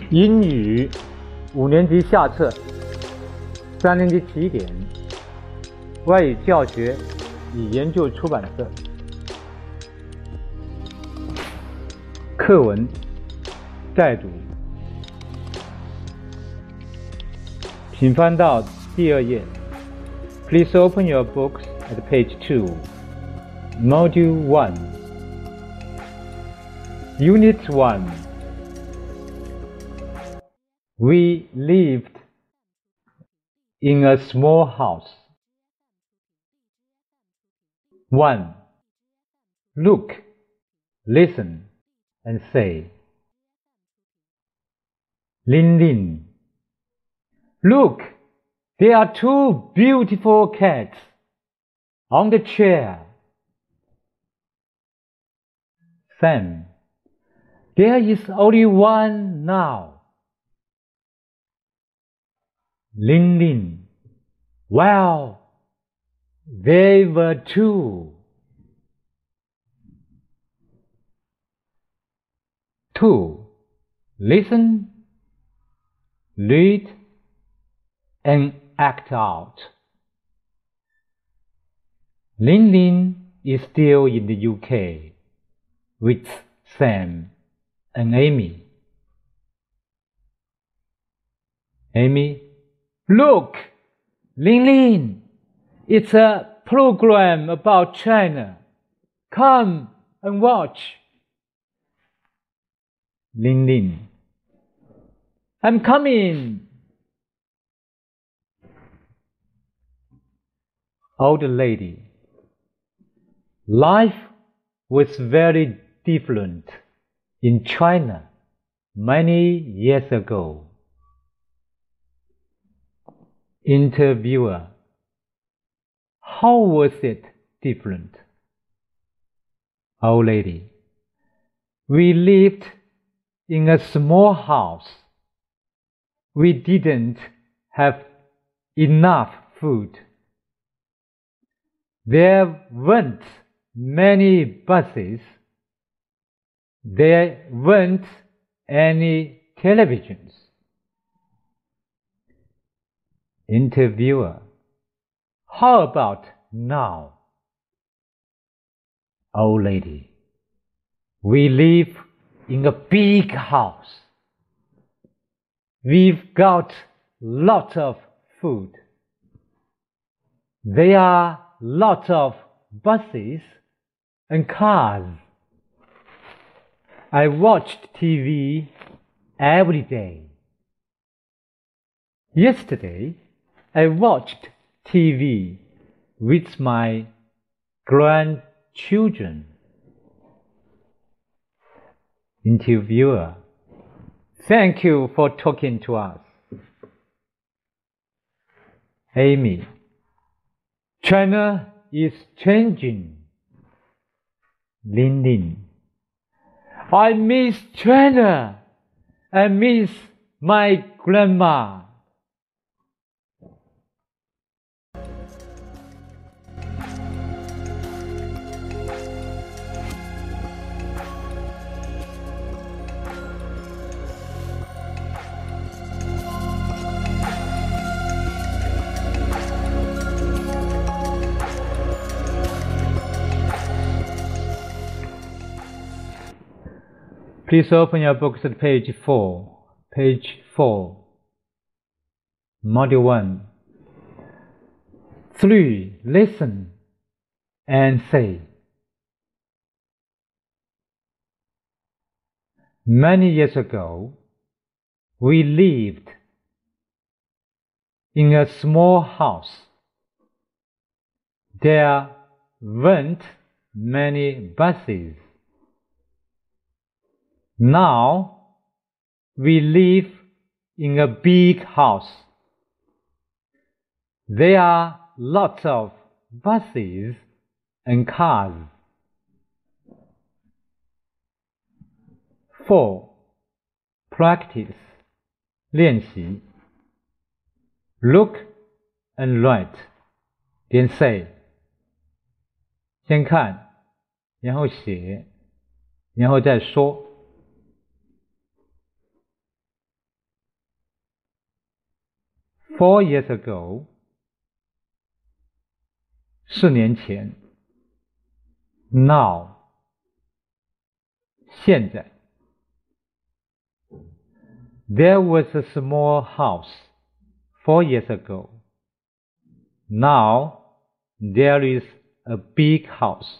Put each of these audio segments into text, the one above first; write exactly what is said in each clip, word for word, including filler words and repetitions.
英语五年级下册，三年级起点，外语教学与研究出版社。课文再读，请翻到第二页。Please open your books at page two, Module one, Unit one. We lived in a small house. one. Look, listen, and say. Lin Lin. Look, there are two beautiful cats on the chair. Sam. There is only one now. Lin Lin. Well, there were two. two. Listen, read, and act out. Lin Lin is still in the U K with Sam and Amy. Amy, look, Lin Lin, it's a program about China. Come and watch. Lin Lin, I'm coming. Old lady, life was very different in China many years ago. Interviewer, how was it different? Old lady, we lived in a small house. We didn't have enough food. There weren't many buses. There weren't any televisions. Interviewer, how about now? Old lady, we live in a big house. We've got lots of food. There are lots of buses and cars. I watched T V every day. Yesterday, I watched T V with my grandchildren. Interviewer, thank you for talking to us. Amy, China is changing. Lin Lin, I miss China. I miss my grandma. Please open your books at page four. Page four. Module one. three. Listen and say. Many years ago, we lived in a small house. There weren't many buses. Now, we live in a big house. There are lots of buses and cars. four. Practice, 练习. Look and write, then say. 先看，然后写，然后再说。 Four years ago. 四年前。Now. 现在。There was a small house four years ago. Now there is a big house.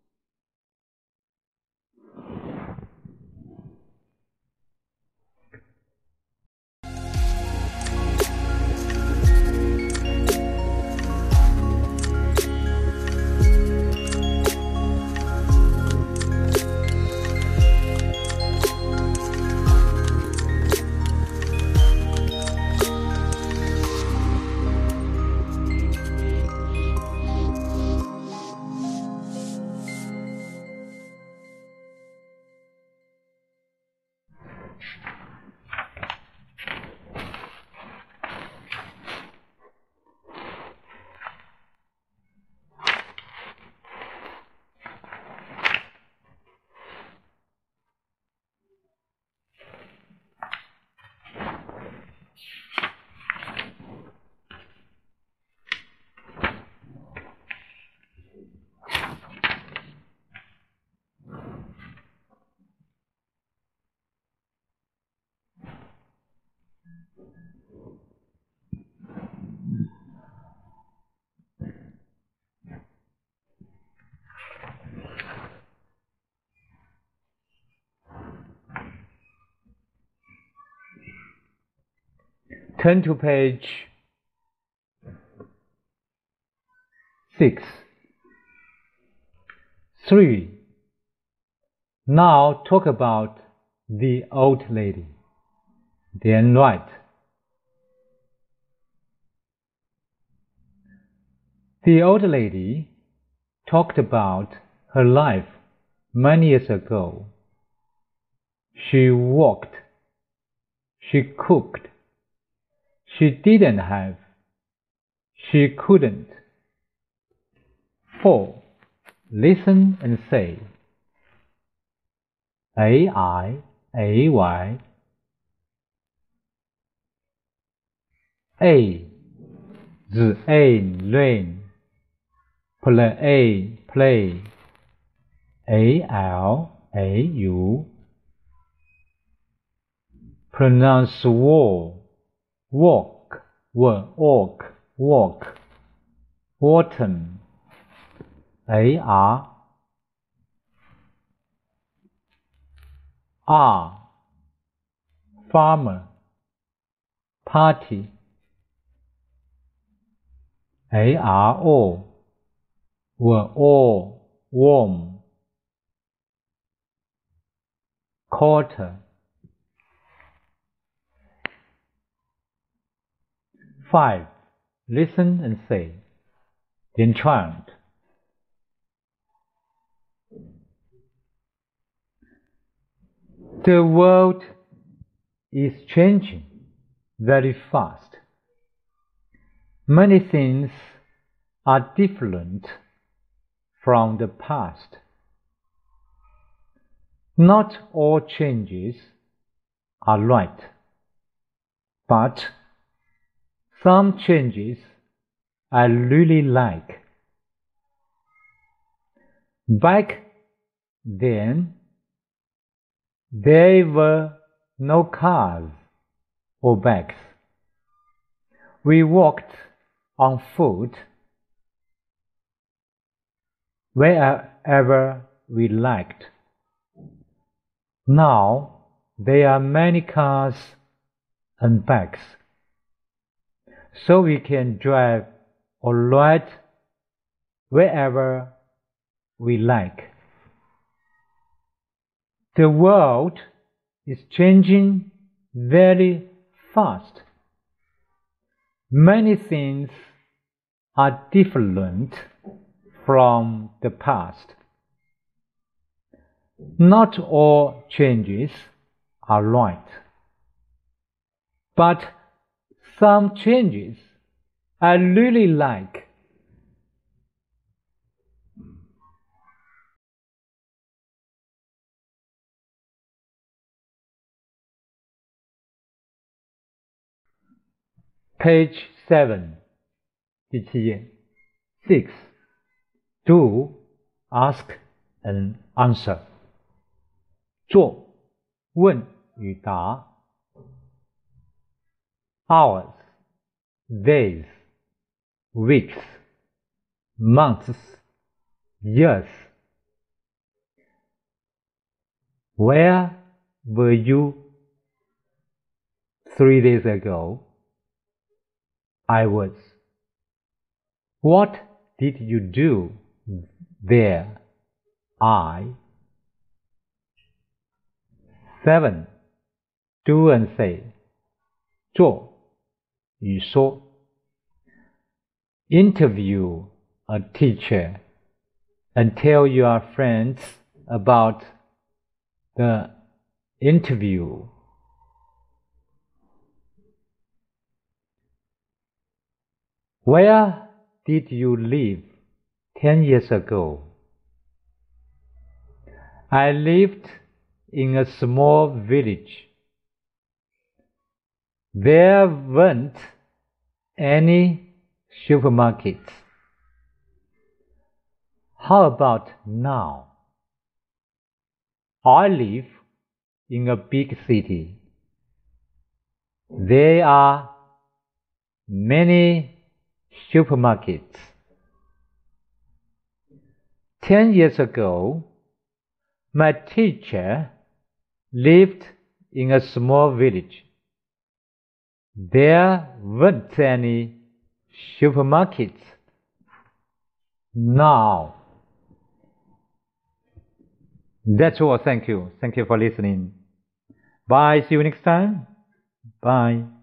Turn to page six. three. Now talk about the old lady. Then write. The old lady talked about her life many years ago. She walked. She cooked. She didn't have. She couldn't. four. Listen and say. A I A Y. A. The A rain. Play play. A L A U. Pronounce wall. Walk, walk, walk. Autumn. A R. R. Farmer. Party. A R O. Were all warm. Quarter. five. Listen and say. Then chant. The world is changing very fast. Many things are different from the past. Not all changes are right, but some changes I really like. Back then, there were no cars or bags. We walked on foot wherever we liked. Now there are many cars and bags, so we can drive or ride wherever we like. The world is changing very fast. Many things are different from the past. Not all changes are right, but some changes I really like. Page seven 第七页 Six Do, ask and answer 做问与答 Hours, days, weeks, months, years Where were you three days ago? I was. What did you do there? I. Seven. Do and say. 做与说 Interview a teacher and tell your friends about the interview. Where did you live ten years ago? I lived in a small village. There weren't any supermarkets. How about now? I live in a big city. There are many supermarkets. Ten years ago, my teacher lived in a small village. There weren't any supermarkets. Now. That's all. Thank you. Thank you for listening. Bye. See you next time. Bye.